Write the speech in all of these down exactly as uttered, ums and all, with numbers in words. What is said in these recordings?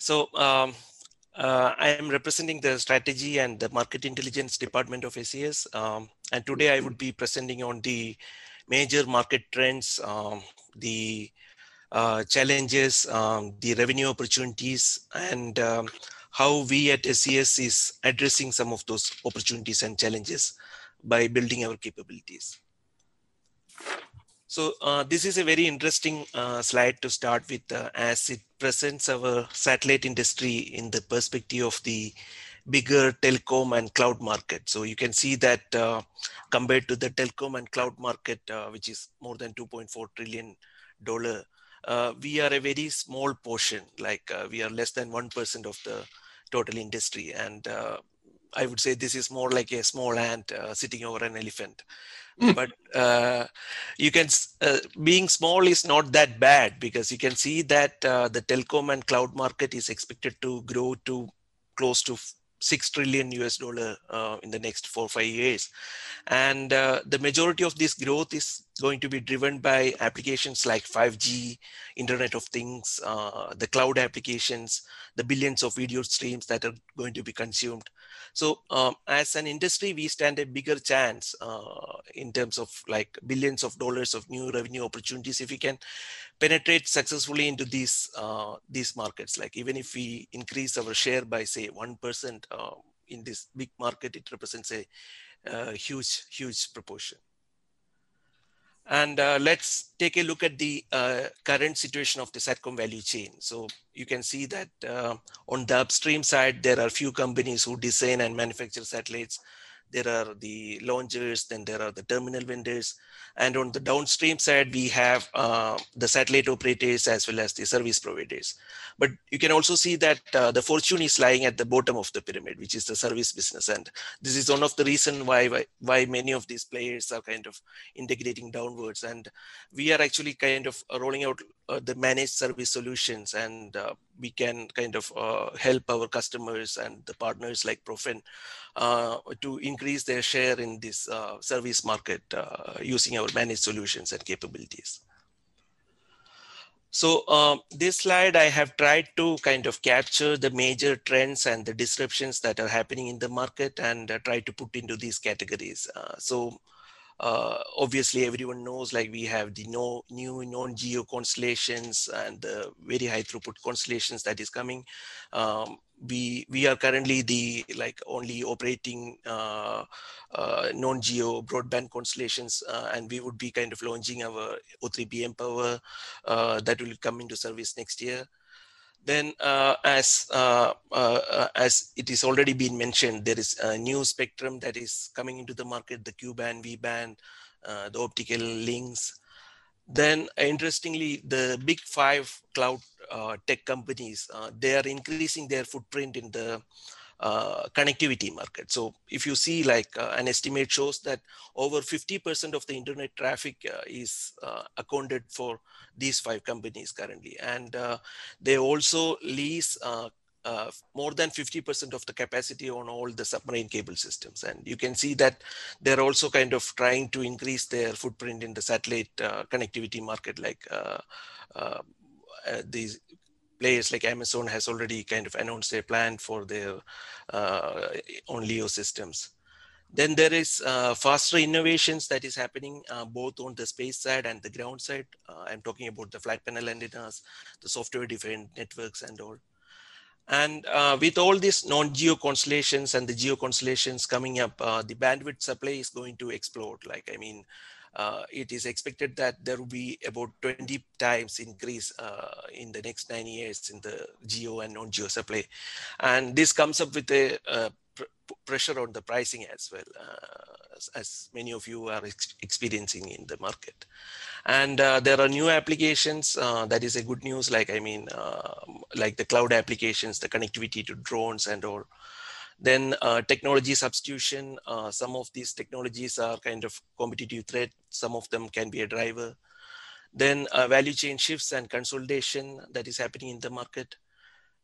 So um, uh, I am representing the strategy and the market intelligence department of A C S. Um, and today I would be presenting on the major market trends, um, the uh, challenges, um, the revenue opportunities, and um, how we at S C S is addressing some of those opportunities and challenges by building our capabilities. So uh, this is a very interesting uh, slide to start with, uh, as it presents our satellite industry in the perspective of the bigger telecom and cloud market. So you can see that uh, compared to the telecom and cloud market, uh, which is more than two point four trillion dollar, uh, we are a very small portion. Like uh, we are less than one percent of the total industry, and uh, I would say this is more like a small ant uh, sitting over an elephant. But uh, you can uh, being small is not that bad, because you can see that uh, the telecom and cloud market is expected to grow to close to six trillion U S dollar uh, in the next four or five years. And uh, the majority of this growth is going to be driven by applications like five G, Internet of Things, uh, the cloud applications, the billions of video streams that are going to be consumed. So um, as an industry, we stand a bigger chance uh, in terms of like billions of dollars of new revenue opportunities if we can penetrate successfully into these uh, these markets. Like even if we increase our share by say one percent uh, in this big market, it represents a uh, huge, huge proportion. And uh, let's take a look at the uh, current situation of the SATCOM value chain. So you can see that uh, on the upstream side, there are few companies who design and manufacture satellites. There are the launchers, then there are the terminal vendors. And on the downstream side, we have uh, the satellite operators as well as the service providers. But you can also see that uh, the fortune is lying at the bottom of the pyramid, which is the service business. And this is one of the reasons why, why, why many of these players are kind of integrating downwards. And we are actually kind of rolling out uh, the managed service solutions, and uh, we can kind of uh, help our customers and the partners like Profen uh, to increase their share in this uh, service market uh, using our managed solutions and capabilities. So um, this slide, I have tried to kind of capture the major trends and the disruptions that are happening in the market, and uh, try to put into these categories. Uh, so uh, obviously, everyone knows like we have the no, new non-geo constellations and the very high throughput constellations that is coming. Um, we we are currently the like only operating uh, uh, non-geo broadband constellations, uh, and we would be kind of launching our O three B mPOWER uh, that will come into service next year. Then, uh, as uh, uh, as it is already been mentioned, there is a new spectrum that is coming into the market: the Q band, V band, uh, the optical links. Then, interestingly, the big five cloud uh, tech companies, uh, they are increasing their footprint in the uh, connectivity market. So if you see like uh, an estimate shows that over fifty percent of the internet traffic uh, is uh, accounted for these five companies currently. And uh, they also lease uh, uh, more than fifty percent of the capacity on all the submarine cable systems. And you can see that they're also kind of trying to increase their footprint in the satellite uh, connectivity market, like uh, uh, uh, these players like Amazon has already kind of announced their plan for their uh, on LEO systems. Then there is uh, faster innovations that is happening uh, both on the space side and the ground side. Uh, I'm talking about the flat panel antennas, the software defined networks and all. And uh, with all these non-geo constellations and the geo constellations coming up, uh, the bandwidth supply is going to explode. Like, I mean, uh, it is expected that there will be about twenty times increase uh, in the next nine years in the geo and non-geo supply. And this comes up with a uh, pr pressure on the pricing as well, uh, as, as many of you are ex experiencing in the market. And uh, there are new applications uh, that is a good news, like I mean uh, like the cloud applications, the connectivity to drones and all. Then uh, technology substitution, uh, some of these technologies are kind of competitive threat, some of them can be a driver. Then uh, value chain shifts and consolidation that is happening in the market.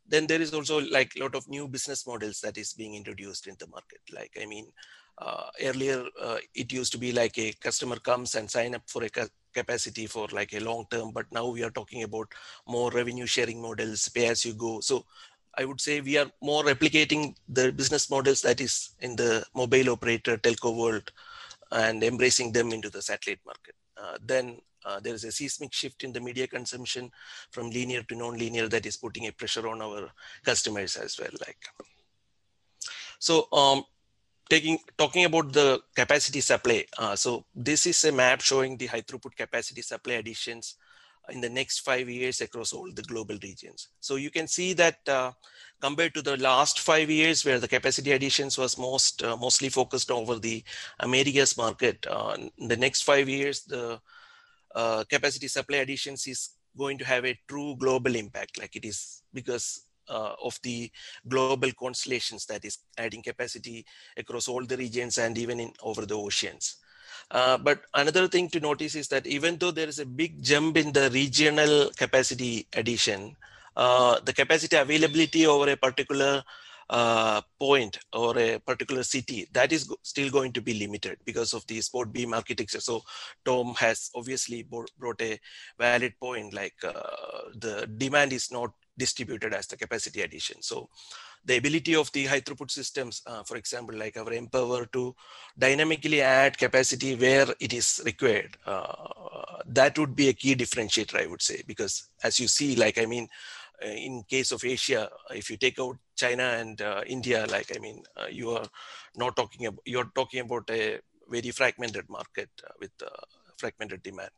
then there is also like a lot of new business models that is being introduced in the market. Like, I mean, uh, earlier uh, it used to be like a customer comes and sign up for a ca capacity for like a long term, but now we are talking about more revenue sharing models, pay as you go. So I would say we are more replicating the business models that is in the mobile operator telco world and embracing them into the satellite market. Uh, then uh, there is a seismic shift in the media consumption from linear to non-linear that is putting a pressure on our customers as well. Like, so um, taking talking about the capacity supply. Uh, so this is a map showing the high throughput capacity supply additions in the next five years across all the global regions. So you can see that uh, compared to the last five years where the capacity additions was most uh, mostly focused over the Americas market, uh, in the next five years, the uh, capacity supply additions is going to have a true global impact, like it is because uh, of the global constellations that is adding capacity across all the regions and even in over the oceans. Uh, but another thing to notice is that even though there is a big jump in the regional capacity addition, uh, the capacity availability over a particular uh, point or a particular city, that is go still going to be limited because of the sport beam architecture. So Tom has obviously brought a valid point, like uh, the demand is not distributed as the capacity addition. So the ability of the high throughput systems, uh, for example, like our Empower to dynamically add capacity where it is required, uh, that would be a key differentiator, I would say, because as you see, like, I mean, uh, in case of Asia, if you take out China and uh, India, like, I mean, uh, you are not talking about, you're talking about a very fragmented market uh, with uh, fragmented demand.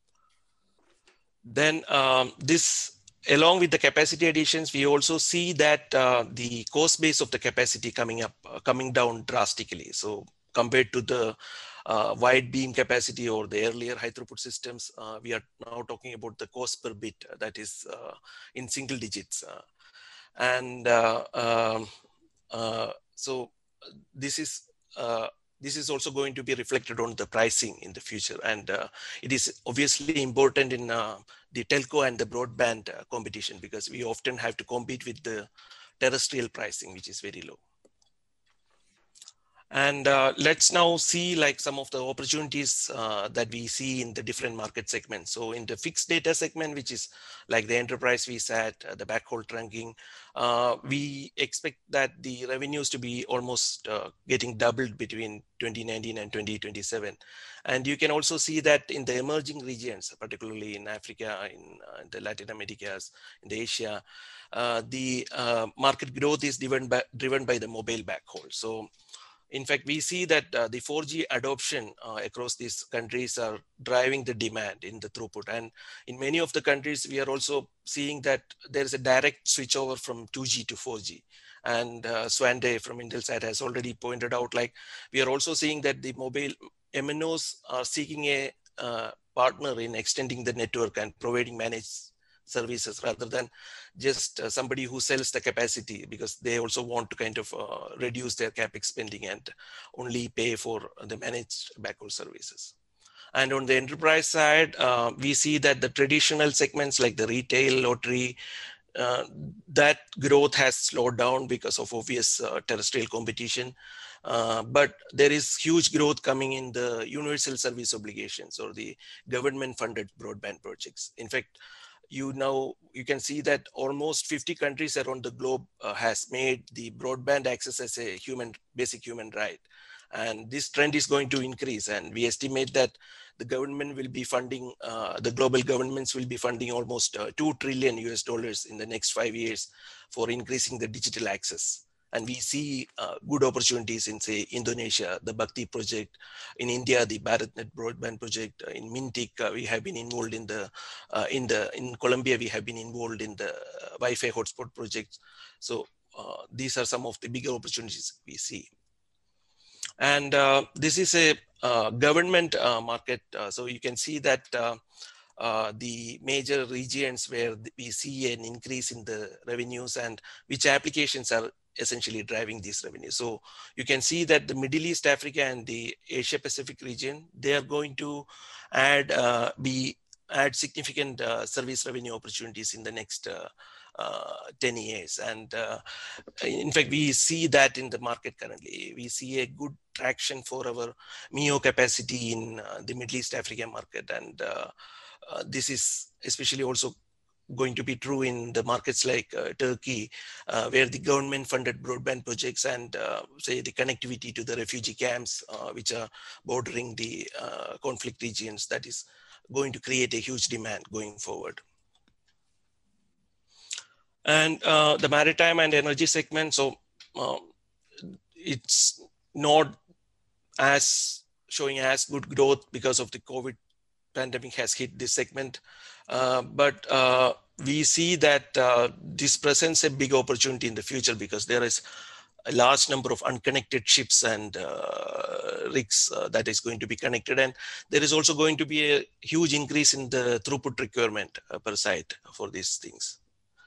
Then um, this, along with the capacity additions, we also see that uh, the cost base of the capacity coming up, uh, coming down drastically. So compared to the uh, wide beam capacity or the earlier high throughput systems, uh, we are now talking about the cost per bit uh, that is uh, in single digits. Uh, and uh, um, uh, so this is uh, this is also going to be reflected on the pricing in the future, and uh, it is obviously important in uh, the telco and the broadband uh, competition, because we often have to compete with the terrestrial pricing, which is very low. And uh, let's now see like some of the opportunities uh, that we see in the different market segments. So in the fixed data segment, which is like the enterprise V SAT, uh, the backhaul trunking, uh, we expect that the revenues to be almost uh, getting doubled between twenty nineteen and twenty twenty-seven. And you can also see that in the emerging regions, particularly in Africa, in, uh, in the Latin Americas, in the Asia, uh, the uh, market growth is driven by, driven by the mobile backhaul. So in fact, we see that uh, the four G adoption uh, across these countries are driving the demand in the throughput. And in many of the countries, we are also seeing that there is a direct switchover from two G to four G. And uh, Swande from Intelsat has already pointed out, like, we are also seeing that the mobile M N Os are seeking a uh, partner in extending the network and providing managed services rather than just uh, somebody who sells the capacity, because they also want to kind of uh, reduce their capex spending and only pay for the managed backhaul services. And on the enterprise side, uh, we see that the traditional segments like the retail, lottery, uh, that growth has slowed down because of obvious uh, terrestrial competition. Uh, but there is huge growth coming in the universal service obligations or the government funded broadband projects. In fact, you now you can see that almost fifty countries around the globe uh, has made the broadband access as a human basic human right, and this trend is going to increase, and we estimate that the government will be funding uh, the global governments will be funding almost uh, two trillion U S dollars in the next five years for increasing the digital access. And we see uh, good opportunities in, say, Indonesia, the Bhakti project; in India, the BharatNet broadband project; uh, in Mintic, uh, we have been involved in the uh, in the in Colombia, we have been involved in the uh, Wi-Fi hotspot projects. So uh, these are some of the bigger opportunities we see. And uh, this is a uh, government uh, market. Uh, so you can see that uh, uh, the major regions where we see an increase in the revenues and which applications are essentially driving these revenues. So you can see that the Middle East, Africa, and the Asia Pacific region, they are going to add, uh, be add significant uh, service revenue opportunities in the next uh, uh, ten years. And uh, in fact, we see that in the market currently. We see a good traction for our M I O capacity in uh, the Middle East Africa market. And uh, uh, this is especially also going to be true in the markets like uh, Turkey, uh, where the government funded broadband projects and uh, say the connectivity to the refugee camps, uh, which are bordering the uh, conflict regions, that is going to create a huge demand going forward. And uh, the maritime and energy segment, so uh, it's not as showing as good growth because of the COVID pandemic has hit this segment. Uh, but uh, we see that uh, this presents a big opportunity in the future because there is a large number of unconnected ships and uh, rigs uh, that is going to be connected. And there is also going to be a huge increase in the throughput requirement uh, per site for these things.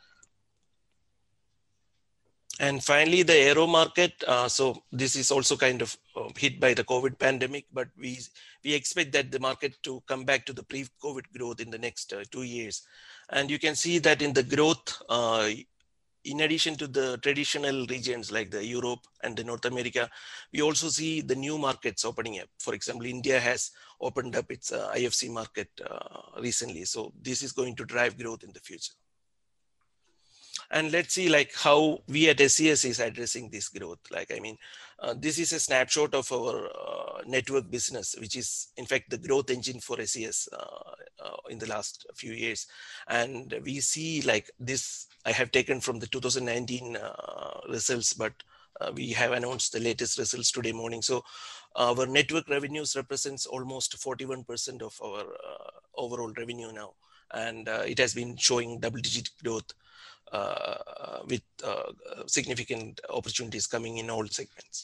And finally, the aero market. Uh, so this is also kind of uh, hit by the COVID pandemic, but we we expect that the market to come back to the pre-COVID growth in the next uh, two years. And you can see that in the growth, uh, in addition to the traditional regions like the Europe and the North America, we also see the new markets opening up. For example, India has opened up its uh, I F C market uh, recently. So this is going to drive growth in the future. And let's see like how we at S E S is addressing this growth. Like, I mean, uh, this is a snapshot of our uh, network business, which is in fact the growth engine for S E S uh, uh, in the last few years. And we see like this, I have taken from the two thousand nineteen uh, results, but uh, we have announced the latest results today morning. So our network revenues represents almost forty-one percent of our uh, overall revenue now. And uh, it has been showing double digit growth Uh, with uh, significant opportunities coming in all segments.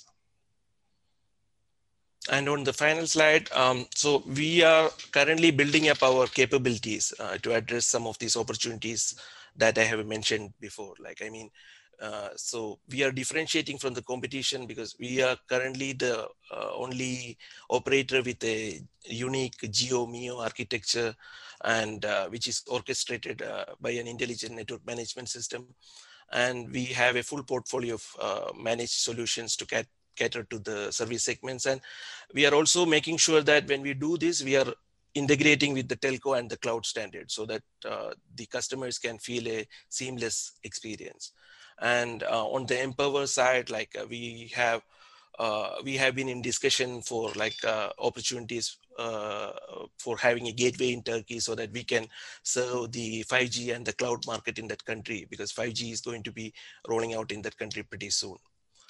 And on the final slide, um, so we are currently building up our capabilities uh, to address some of these opportunities that I have mentioned before. Like, I mean, uh, so we are differentiating from the competition because we are currently the uh, only operator with a unique Geo M I O architecture, and uh, which is orchestrated uh, by an intelligent network management system. And we have a full portfolio of uh, managed solutions to cat cater to the service segments. And we are also making sure that when we do this, we are integrating with the telco and the cloud standard so that uh, the customers can feel a seamless experience. And uh, on the Empower side, like uh, we have uh, we have been in discussion for like uh, opportunities uh, for having a gateway in Turkey so that we can serve the five G and the cloud market in that country, because five G is going to be rolling out in that country pretty soon.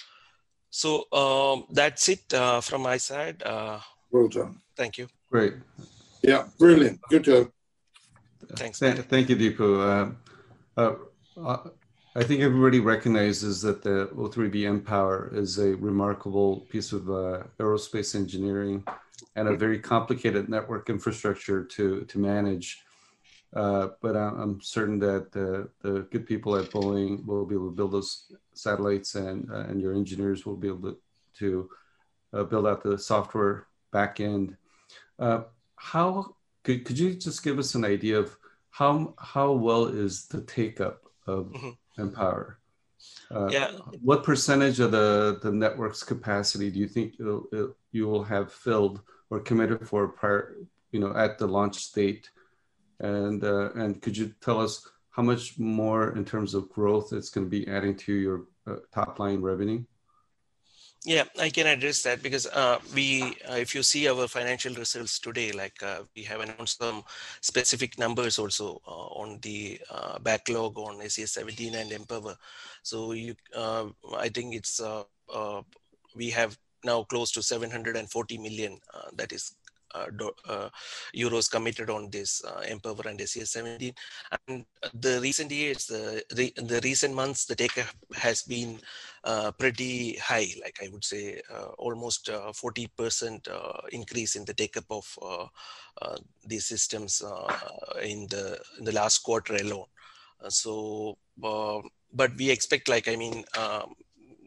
So um, that's it uh, from my side. Uh, well done. Thank you. Great. Yeah, brilliant. Good job. Thanks. Th thank you, Deepu. Uh, uh, I think everybody recognizes that the O three B mPOWER is a remarkable piece of uh, aerospace engineering and a very complicated network infrastructure to, to manage. Uh, but I'm, I'm certain that uh, the good people at Boeing will be able to build those satellites, and, uh, and your engineers will be able to, to uh, build out the software backend. Uh, how could, could you just give us an idea of how, how well is the take-up of mm-hmm. mPOWER? Uh, yeah. What percentage of the, the network's capacity do you think it'll, it, you will have filled or committed for prior, you know, at the launch date? And, uh, and could you tell us how much more in terms of growth it's going to be adding to your uh, top line revenue? Yeah, I can address that because uh, we, uh, if you see our financial results today, like uh, we have announced some specific numbers also uh, on the uh, backlog on S E S seventeen and mPOWER. So you, uh, I think it's uh, uh, we have now close to seven hundred forty million. Uh, that is Uh, do, uh, euros committed on this uh, mPOWER and S E S seventeen. And the recent years, the, the, the recent months, the take-up has been uh, pretty high, like I would say uh, almost uh, forty percent uh, increase in the take-up of uh, uh, these systems uh, in, the, in the last quarter alone. Uh, so, uh, but we expect, like, I mean, um,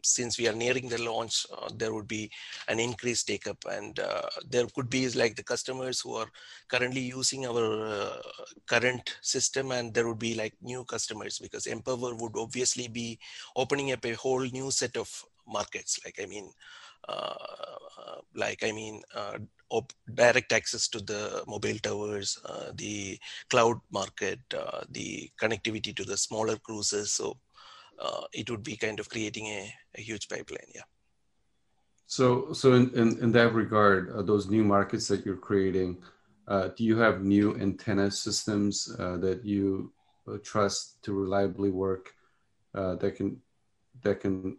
since we are nearing the launch, uh, there would be an increased take up, and uh, there could be like the customers who are currently using our uh, current system, and there would be like new customers, because Empower would obviously be opening up a whole new set of markets. Like, I mean, uh, like, I mean, uh, op- direct access to the mobile towers, uh, the cloud market, uh, the connectivity to the smaller cruises. So uh, it would be kind of creating a, a huge pipeline. Yeah. So, so in, in, in that regard, uh, those new markets that you're creating, uh, do you have new antenna systems uh, that you uh, trust to reliably work uh, that can that can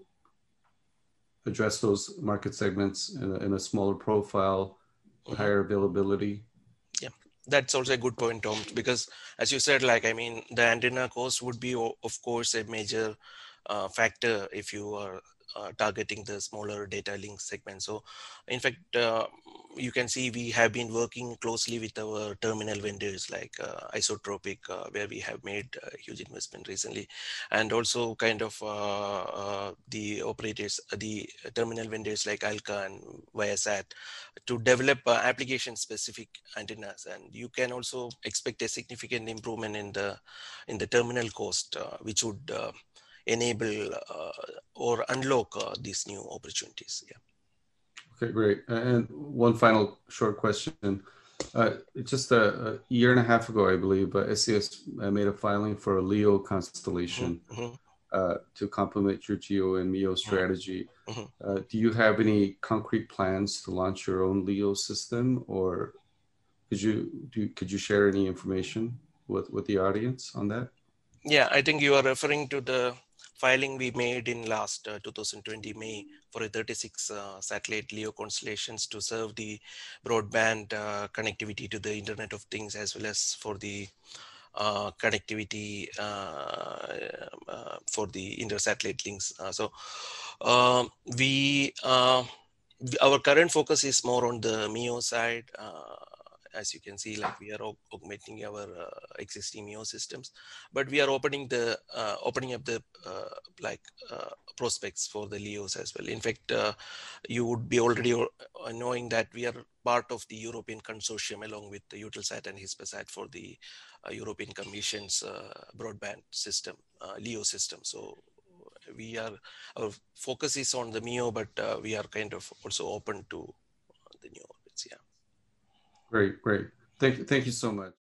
address those market segments in a, in a smaller profile, Mm-hmm. higher availability? Yeah, that's also a good point, Tom, because as you said, like, I mean, the antenna cost would be, of course, a major uh, factor if you are uh, targeting the smaller data link segment. So in fact, uh, you can see we have been working closely with our terminal vendors like uh, Isotropic, uh, where we have made a huge investment recently, and also kind of uh, uh, the operators, the terminal vendors like Alka and Viasat, to develop uh, application specific antennas. And you can also expect a significant improvement in the in the terminal cost, uh, which would uh, enable uh, or unlock uh, these new opportunities. Yeah. Okay, great. And one final short question. Uh, just a, a year and a half ago, I believe, uh, S E S made a filing for a LEO constellation Mm-hmm. uh, to complement your GEO and MEO strategy. Mm-hmm. Uh, do you have any concrete plans to launch your own LEO system, or could you do? Could you share any information with with the audience on that? Yeah, I think you are referring to the filing we made in last uh, two thousand twenty May for a thirty-six uh, satellite LEO constellations to serve the broadband uh, connectivity to the Internet of Things, as well as for the uh, connectivity uh, uh, for the inter-satellite links. Uh, so um, we, uh, our current focus is more on the MEO side. Uh, as you can see, like, we are aug- augmenting our uh, existing MEO systems, but we are opening the uh, opening up the uh, like uh, prospects for the LEOs as well. In fact, uh, you would be already uh, knowing that we are part of the European consortium along with the Eutelsat and Hispasat for the uh, European Commission's uh, broadband system, uh, LEO system. So we are, our focus is on the MEO, but uh, we are kind of also open to the new orbits. Yeah. Great, great. Thank you, thank you so much.